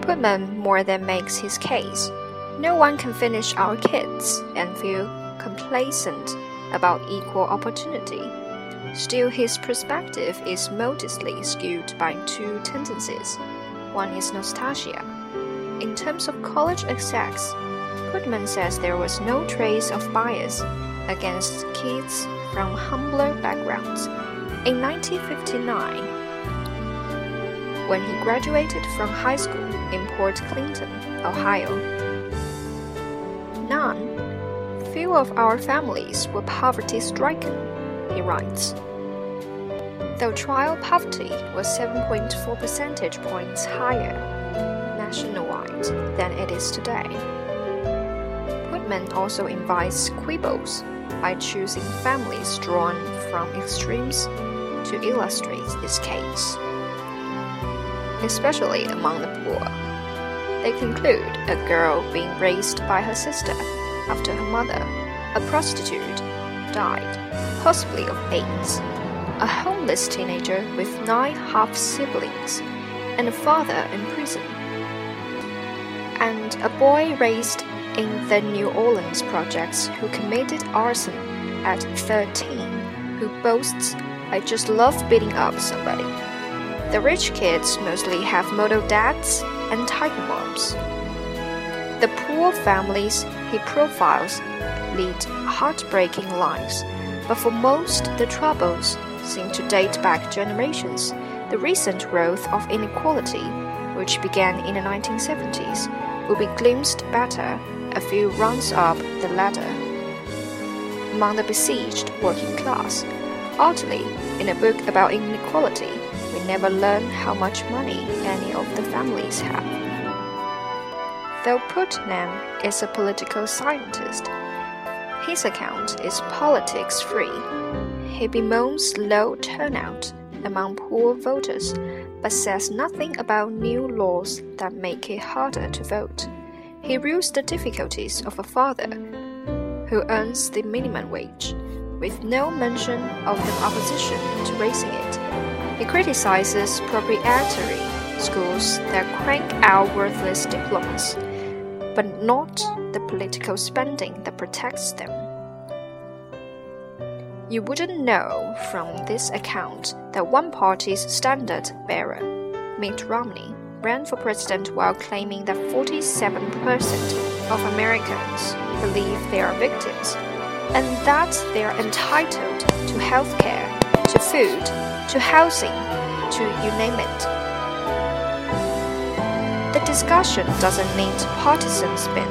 Putnam more than makes his case. No one can finish our kids and feel complacent about equal opportunity. Still, his perspective is modestly skewed by two tendencies. One is nostalgia. In terms of college execs, Putnam says there was no trace of bias against kids from humbler backgrounds. In 1959, when he graduated from high school in Port Clinton, Ohio, few of our families were poverty-stricken, he writes. Though trial poverty was 7.4 percentage points higher nationwide than it is today. Putnam also invites quibbles by choosing families drawn from extremes to illustrate this case, especially among the poor. They conclude a girl being raised by her sister after her mother, a prostitute, died, possibly of AIDS, a homeless teenager with 9 half-siblings, and a father in prison, and a boy raised in the New Orleans projects who committed arson at 13, who boasts, "I just love beating up somebody." The rich kids mostly have model dads and tiger moms. The poor families he profiles lead heartbreaking lives, but for most, the troubles seem to date back generations. The recent growth of inequality, which began in the 1970s, will be glimpsed better a few rungs up the ladder. Among the besieged working class, oddly, in a book about inequality, we never learn how much money any of the families have. Though Putnam is a political scientist, his account is politics-free. He bemoans low turnout among poor voters, but says nothing about new laws that make it harder to vote. He rules the difficulties of a father who earns the minimum wage, with no mention of the opposition to raising it. He criticizes proprietary schools that crank out worthless diplomas, but not the political spending that protects them. You wouldn't know from this account that one party's standard-bearer, Mitt Romney, ran for president while claiming that 47% of Americans believe they are victims, and that they are entitled to health care, to food, to housing, to you name it. The discussion doesn't need partisan spin.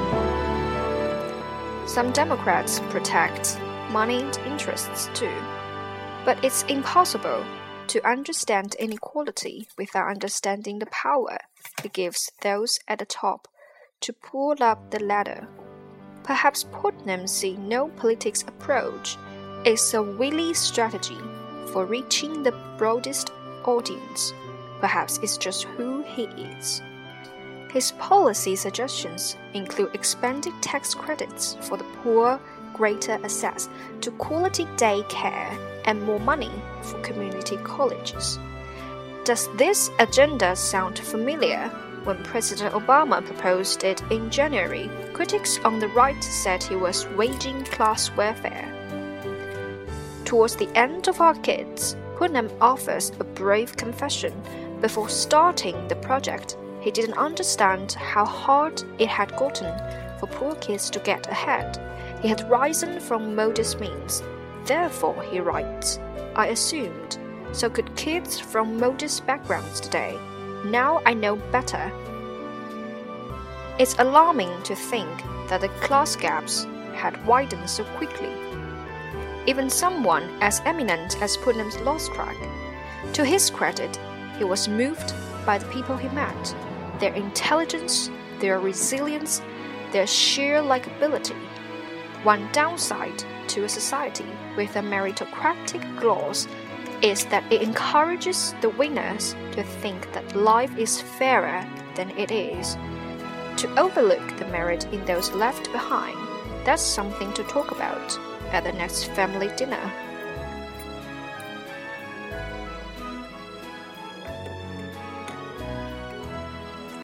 Some Democrats protect moneyed interests too, but it's impossible to understand inequality without understanding the power it gives those at the top to pull up the ladder. Perhaps Putnam's see-no politics approach is a wily strategy for reaching the broadest audience. Perhaps it's just who he is. His policy suggestions include expanded tax credits for the poor, greater access to quality day care, and more money for community colleges. Does this agenda sound familiar? When President Obama proposed it in January, critics on the right said he was waging class warfare. Towards the end of Our Kids, Putnam offers a brave confession. Before starting the project, he didn't understand how hard it had gotten for poor kids to get ahead. He had risen from modest means. Therefore, he writes, I assumed, so could kids from modest backgrounds today. Now I know better. It's alarming to think that the class gaps had widened so quickly. Even someone as eminent as Putnam's lost track. To his credit, he was moved by the people he met, their intelligence, their resilience, their sheer likability. One downside to a society with a meritocratic gloss is that it encourages the winners to think that life is fairer than it is. To overlook the merit in those left behind, that's something to talk about at the next family dinner.